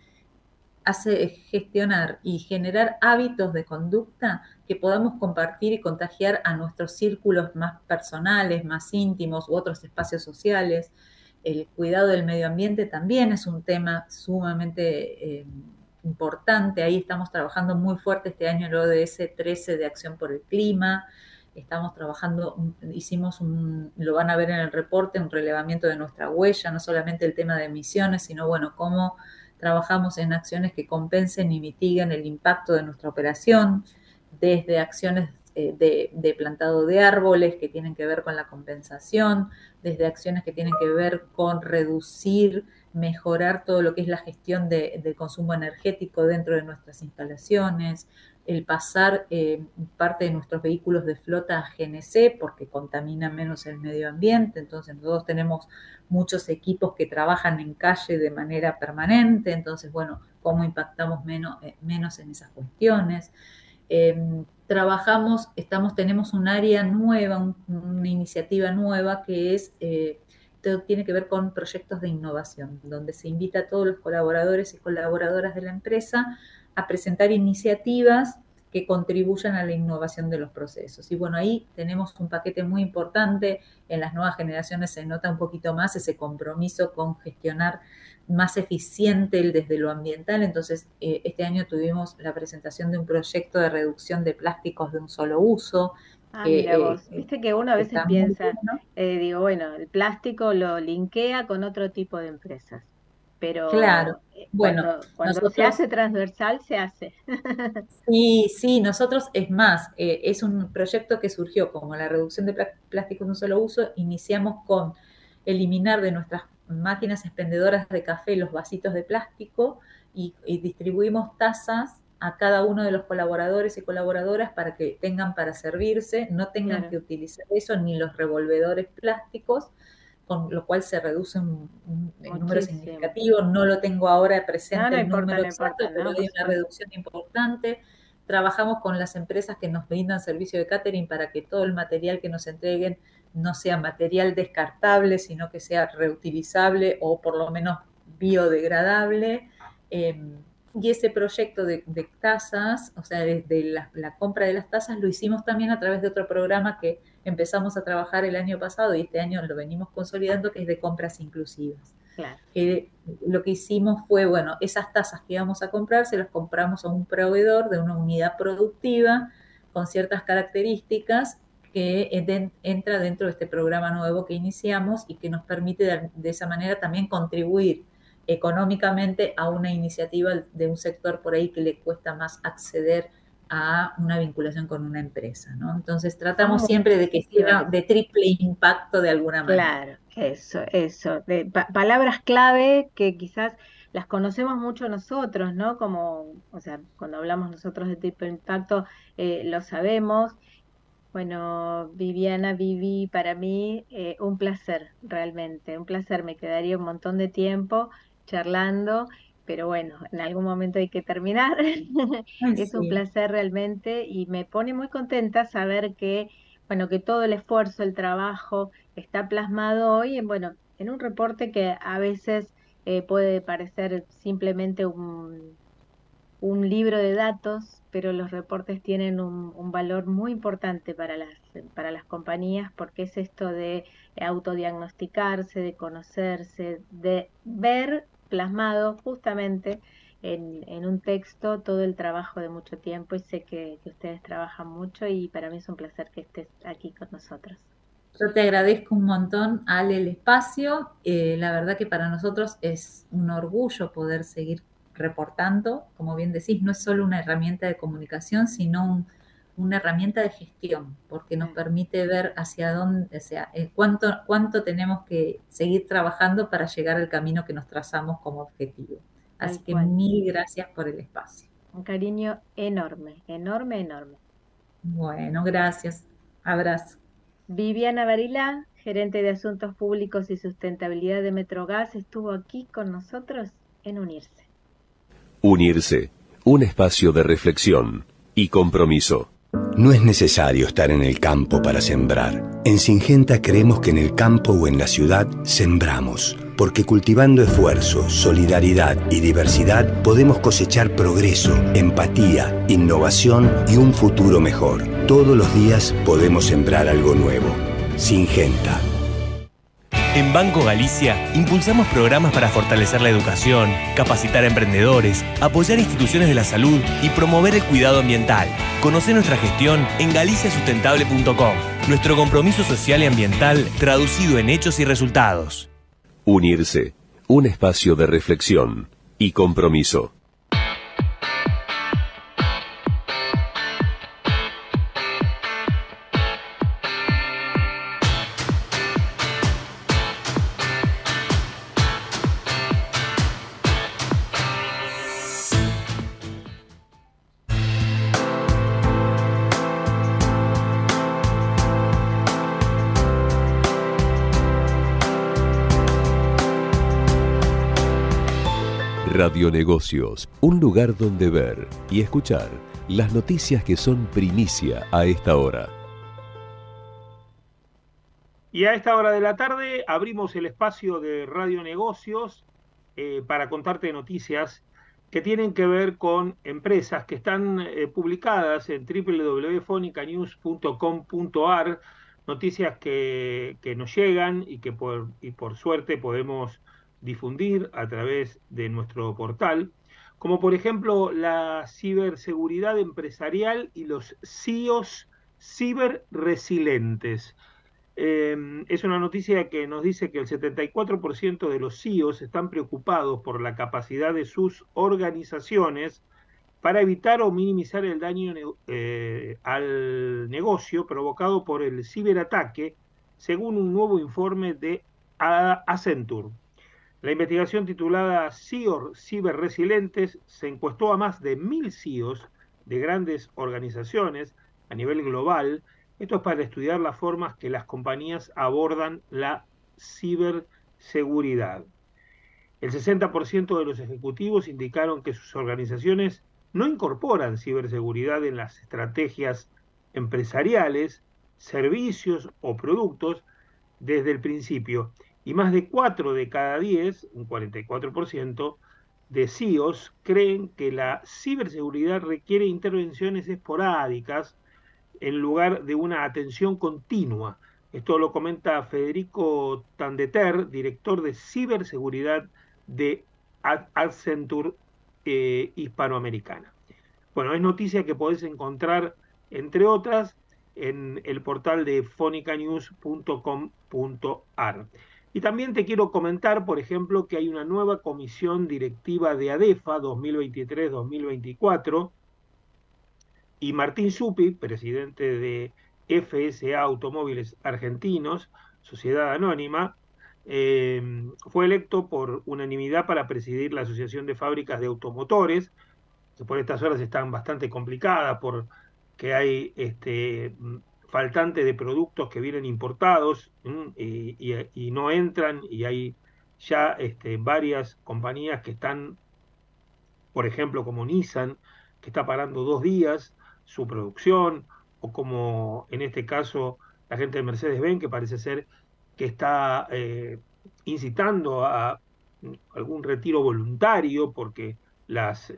gestionar y generar hábitos de conducta que podamos compartir y contagiar a nuestros círculos más personales, más íntimos u otros espacios sociales. El cuidado del medio ambiente también es un tema sumamente importante. Ahí estamos trabajando muy fuerte este año el ODS 13 de Acción por el Clima. Estamos trabajando, lo van a ver en el reporte, un relevamiento de nuestra huella, no solamente el tema de emisiones, sino, bueno, cómo trabajamos en acciones que compensen y mitiguen el impacto de nuestra operación, desde acciones de plantado de árboles que tienen que ver con la compensación, desde acciones que tienen que ver con reducir, mejorar todo lo que es la gestión del consumo energético dentro de nuestras instalaciones, el pasar parte de nuestros vehículos de flota a GNC porque contaminan menos el medio ambiente. Entonces nosotros tenemos muchos equipos que trabajan en calle de manera permanente, entonces, bueno, cómo impactamos menos en esas cuestiones. Tenemos un área nueva, una iniciativa nueva que tiene que ver con proyectos de innovación, donde se invita a todos los colaboradores y colaboradoras de la empresa a presentar iniciativas que contribuyan a la innovación de los procesos. Y bueno, ahí tenemos un paquete muy importante. En las nuevas generaciones se nota un poquito más ese compromiso con gestionar más eficiente desde lo ambiental. Entonces, este año tuvimos la presentación de un proyecto de reducción de plásticos de un solo uso. Mira vos, viste que uno a veces piensa, digo, bueno, el plástico lo linkea con otro tipo de empresas, pero claro, bueno, cuando se hace transversal, se hace. Sí, nosotros, es más, es un proyecto que surgió como la reducción de plásticos de un solo uso. Iniciamos con eliminar de nuestras máquinas expendedoras de café los vasitos de plástico y distribuimos tazas a cada uno de los colaboradores y colaboradoras para que tengan para servirse, no tengan que utilizar eso ni los revolvedores plásticos, con lo cual se reduce un número significativo. No lo tengo ahora presente el número exacto, pero hay una reducción importante. Trabajamos con las empresas que nos brindan servicio de catering para que todo el material que nos entreguen no sea material descartable, sino que sea reutilizable o por lo menos biodegradable. Y ese proyecto de tasas, o sea, desde la compra de las tasas, lo hicimos también a través de otro programa que empezamos a trabajar el año pasado y este año lo venimos consolidando, que es de compras inclusivas. Claro. Lo que hicimos fue, bueno, esas tasas que íbamos a comprar, se las compramos a un proveedor de una unidad productiva con ciertas características que entra dentro de este programa nuevo que iniciamos y que nos permite de esa manera también contribuir económicamente a una iniciativa de un sector por ahí que le cuesta más acceder a una vinculación con una empresa, ¿no? Entonces tratamos siempre de que sea de triple impacto de alguna manera. Claro, eso. Palabras clave que quizás las conocemos mucho nosotros, ¿no? Como, o sea, cuando hablamos nosotros de triple impacto, lo sabemos. Bueno, Vivi, para mí un placer, realmente, un placer. Me quedaría un montón de tiempo charlando, pero bueno, en algún momento hay que terminar. Es un placer realmente y me pone muy contenta saber que, bueno, que todo el esfuerzo, el trabajo está plasmado hoy en un reporte que a veces puede parecer simplemente un libro de datos, pero los reportes tienen un valor muy importante para las compañías, porque es esto de autodiagnosticarse, de conocerse, de ver plasmado justamente en un texto todo el trabajo de mucho tiempo, y sé que ustedes trabajan mucho y para mí es un placer que estés aquí con nosotros. Yo te agradezco un montón, Ale, el espacio. La verdad que para nosotros es un orgullo poder seguir reportando. Como bien decís, no es solo una herramienta de comunicación, sino una herramienta de gestión, porque nos permite ver hacia dónde, o sea, cuánto tenemos que seguir trabajando para llegar al camino que nos trazamos como objetivo. Así que mil gracias por el espacio. Un cariño enorme, enorme, enorme. Bueno, gracias. Abrazo. Viviana Varila, gerente de Asuntos Públicos y Sustentabilidad de Metrogas, estuvo aquí con nosotros en Unirse. Unirse, un espacio de reflexión y compromiso. No es necesario estar en el campo para sembrar. En Syngenta creemos que en el campo o en la ciudad sembramos, porque cultivando esfuerzo, solidaridad y diversidad podemos cosechar progreso, empatía, innovación y un futuro mejor. Todos los días podemos sembrar algo nuevo. Syngenta. En Banco Galicia impulsamos programas para fortalecer la educación, capacitar a emprendedores, apoyar instituciones de la salud y promover el cuidado ambiental. Conoce nuestra gestión en galiciasustentable.com. Nuestro compromiso social y ambiental traducido en hechos y resultados. Unirse, un espacio de reflexión y compromiso. Radionegocios, un lugar donde ver y escuchar las noticias que son primicia a esta hora. Y a esta hora de la tarde abrimos el espacio de Radionegocios para contarte noticias que tienen que ver con empresas que están publicadas en www.fonicanews.com.ar, noticias que nos llegan y que por suerte podemos difundir a través de nuestro portal, como por ejemplo la ciberseguridad empresarial y los CIOs ciberresilientes. Es una noticia que nos dice que el 74% de los CIOs están preocupados por la capacidad de sus organizaciones para evitar o minimizar el daño al negocio provocado por el ciberataque, según un nuevo informe de Accenture. La investigación titulada CIOs ciberresilientes se encuestó a más de 1.000 CIOs de grandes organizaciones a nivel global. Esto es para estudiar las formas que las compañías abordan la ciberseguridad. El 60% de los ejecutivos indicaron que sus organizaciones no incorporan ciberseguridad en las estrategias empresariales, servicios o productos desde el principio. Y más de 4 de cada 10, un 44%, de CIOs creen que la ciberseguridad requiere intervenciones esporádicas en lugar de una atención continua. Esto lo comenta Federico Tandeter, director de ciberseguridad de Accenture Hispanoamericana. Bueno, es noticia que podés encontrar, entre otras, en el portal de fonicanews.com.ar. Y también te quiero comentar, por ejemplo, que hay una nueva comisión directiva de ADEFA 2023-2024, y Martín Zuppi, presidente de FSA Automóviles Argentinos, Sociedad Anónima, fue electo por unanimidad para presidir la Asociación de Fábricas de Automotores, que por estas horas están bastante complicadas porque hay faltante de productos que vienen importados y no entran, y hay ya varias compañías que están, por ejemplo, como Nissan, que está parando 2 días su producción, o como en este caso la gente de Mercedes-Benz, que parece ser que está incitando a algún retiro voluntario, porque las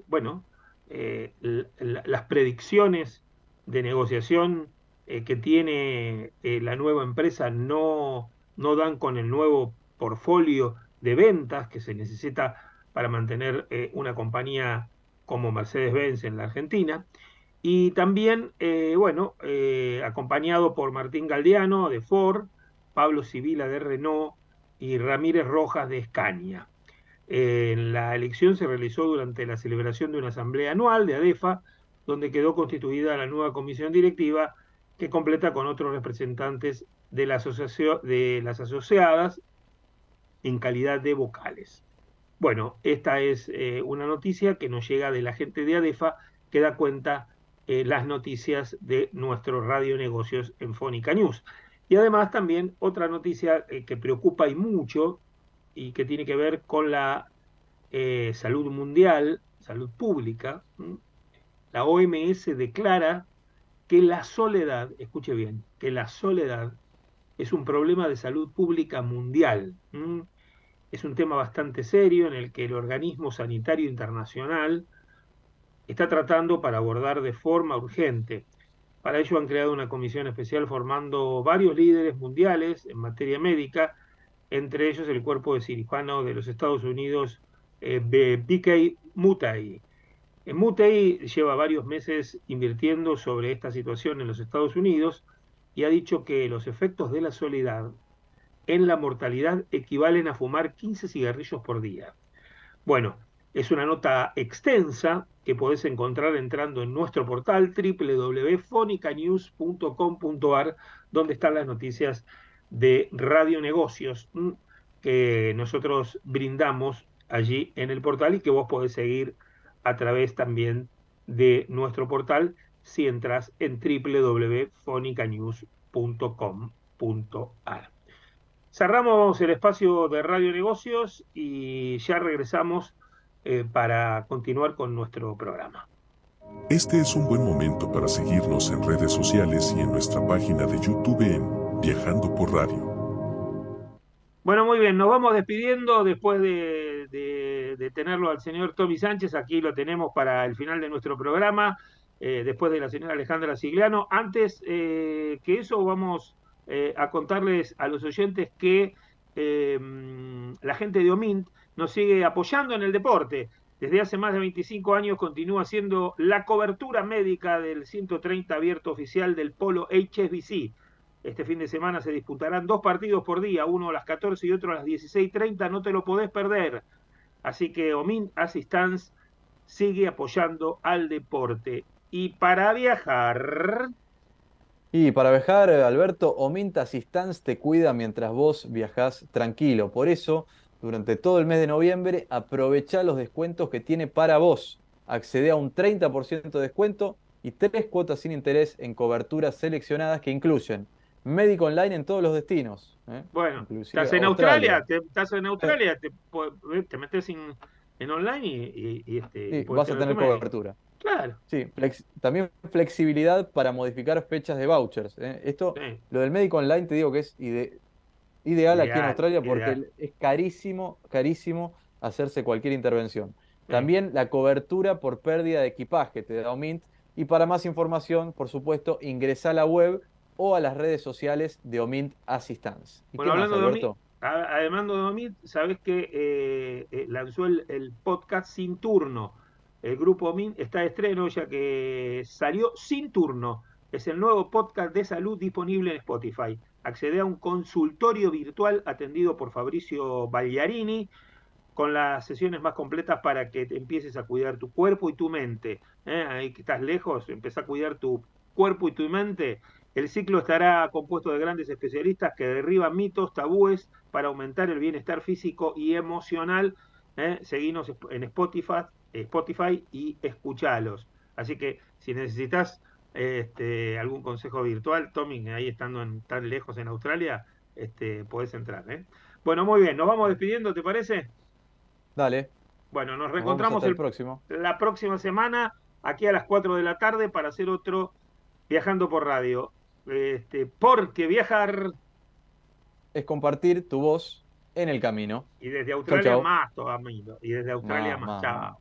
predicciones de negociación que tiene la nueva empresa no dan con el nuevo portfolio de ventas que se necesita para mantener una compañía como Mercedes-Benz en la Argentina. Y también, acompañado por Martín Galdiano de Ford, Pablo Sibila de Renault y Ramírez Rojas de Scania. La elección se realizó durante la celebración de una asamblea anual de ADEFA, donde quedó constituida la nueva comisión directiva, que completa con otros representantes de las asociadas en calidad de vocales. Bueno, esta es una noticia que nos llega de la gente de ADEFA, que da cuenta las noticias de nuestro Radio Negocios en Fónica News. Y además también otra noticia que preocupa y mucho, y que tiene que ver con la salud mundial, salud pública. La OMS declara que la soledad, escuche bien, que la soledad es un problema de salud pública mundial. Es un tema bastante serio en el que el Organismo Sanitario Internacional está tratando para abordar de forma urgente. Para ello han creado una comisión especial formando varios líderes mundiales en materia médica, entre ellos el cuerpo de cirujano de los Estados Unidos, BK Mutay. Mutay lleva varios meses invirtiendo sobre esta situación en los Estados Unidos y ha dicho que los efectos de la soledad en la mortalidad equivalen a fumar 15 cigarrillos por día. Bueno, es una nota extensa que podés encontrar entrando en nuestro portal www.fonicanews.com.ar, donde están las noticias de Radio Negocios que nosotros brindamos allí en el portal, y que vos podés seguir a través también de nuestro portal si entras en www.fonicanews.com.ar. Cerramos el espacio de Radio Negocios y ya regresamos para continuar con nuestro programa. Este es un buen momento para seguirnos en redes sociales y en nuestra página de YouTube en Viajando por Radio. Bueno, muy bien, nos vamos despidiendo después de tenerlo al señor Tommy Sánchez. Aquí lo tenemos para el final de nuestro programa, después de la señora Alejandra Sigliano. Antes que eso, vamos a contarles a los oyentes que la gente de OMINT nos sigue apoyando en el deporte. Desde hace más de 25 años continúa haciendo la cobertura médica del 130 abierto oficial del Polo HSBC. Este fin de semana se disputarán 2 partidos por día, uno a las 14 y otro a las 16:30, no te lo podés perder. Así que OMINT Assistance sigue apoyando al deporte. Y para viajar... Alberto, OMINT Assistance te cuida mientras vos viajás tranquilo. Por eso, durante todo el mes de noviembre, aprovechá los descuentos que tiene para vos. Accedé a un 30% de descuento y 3 cuotas sin interés en coberturas seleccionadas que incluyen médico online en todos los destinos. Bueno, inclusive estás en Australia, te metes en online y vas a tener cobertura. Claro. Sí, también flexibilidad para modificar fechas de vouchers. Esto, sí. Lo del médico online te digo que es ideal aquí en Australia porque es carísimo hacerse cualquier intervención. También la cobertura por pérdida de equipaje te da Omint. Y para más información, por supuesto, ingresa a la web o a las redes sociales de Omint Assistance. ¿Y bueno, qué más, hablando Alberto? además de Omint, sabes que lanzó el podcast Sin Turno. El grupo Omint está de estreno, ya que salió Sin Turno. Es el nuevo podcast de salud disponible en Spotify. Accede a un consultorio virtual atendido por Fabricio Bagliarini, con las sesiones más completas para que te empieces a cuidar tu cuerpo y tu mente. Ahí que estás lejos, empezá a cuidar tu cuerpo y tu mente. El ciclo estará compuesto de grandes especialistas que derriban mitos, tabúes para aumentar el bienestar físico y emocional. Seguinos en Spotify y escuchalos. Así que si necesitas algún consejo virtual, Tommy, ahí estando tan lejos en Australia, podés entrar. Bueno, muy bien, nos vamos despidiendo, ¿te parece? Dale. Bueno, nos reencontramos la próxima semana, aquí a las 4 de la tarde, para hacer otro Viajando por Radio. Porque viajar es compartir tu voz en el camino. Y desde Australia chau. más todavía. Y desde Australia más. Chao.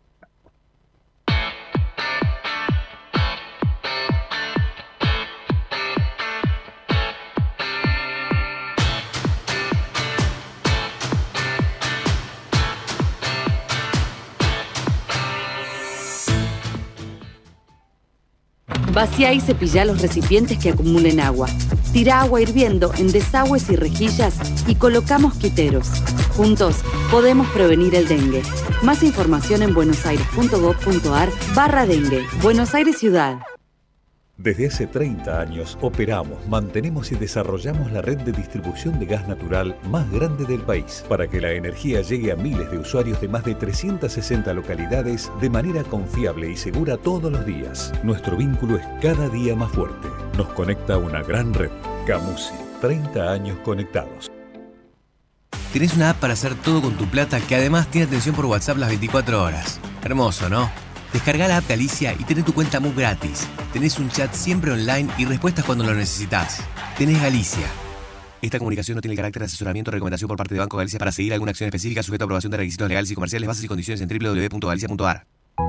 Vacía y cepilla los recipientes que acumulen agua. Tira agua hirviendo en desagües y rejillas y coloca mosquiteros. Juntos podemos prevenir el dengue. Más información en buenosaires.gov.ar/dengue. Buenos Aires Ciudad. Desde hace 30 años operamos, mantenemos y desarrollamos la red de distribución de gas natural más grande del país para que la energía llegue a miles de usuarios de más de 360 localidades de manera confiable y segura todos los días. Nuestro vínculo es cada día más fuerte. Nos conecta a una gran red. Camusi, 30 años conectados. Tenés una app para hacer todo con tu plata que además tiene atención por WhatsApp las 24 horas. Hermoso, ¿no? Descargá la app Galicia y tenés tu cuenta MUP gratis. Tenés un chat siempre online y respuestas cuando lo necesitas. Tenés Galicia. Esta comunicación no tiene el carácter de asesoramiento o recomendación por parte de Banco Galicia para seguir alguna acción específica sujeta a aprobación de requisitos legales y comerciales, bases y condiciones en www.galicia.ar.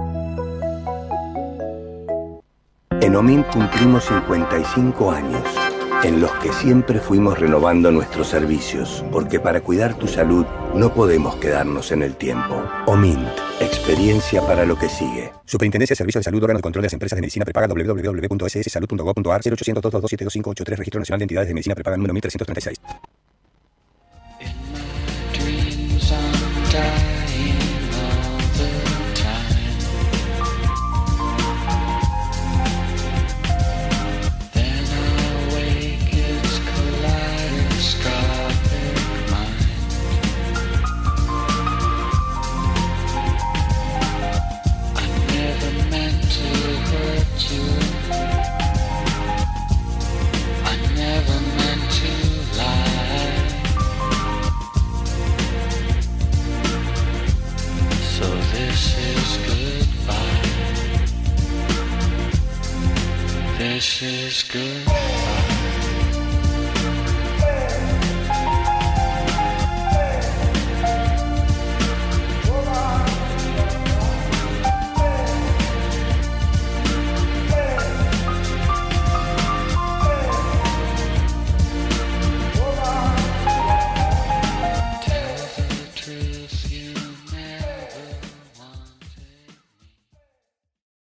En Omint cumplimos 55 años, en los que siempre fuimos renovando nuestros servicios, porque para cuidar tu salud no podemos quedarnos en el tiempo. Omint, experiencia para lo que sigue. Superintendencia de Servicios de Salud, órgano de control de las empresas de medicina prepaga, www.sssalud.gov.ar, 0800-227-2583, Registro Nacional de Entidades de Medicina Prepaga número 1336. This is good.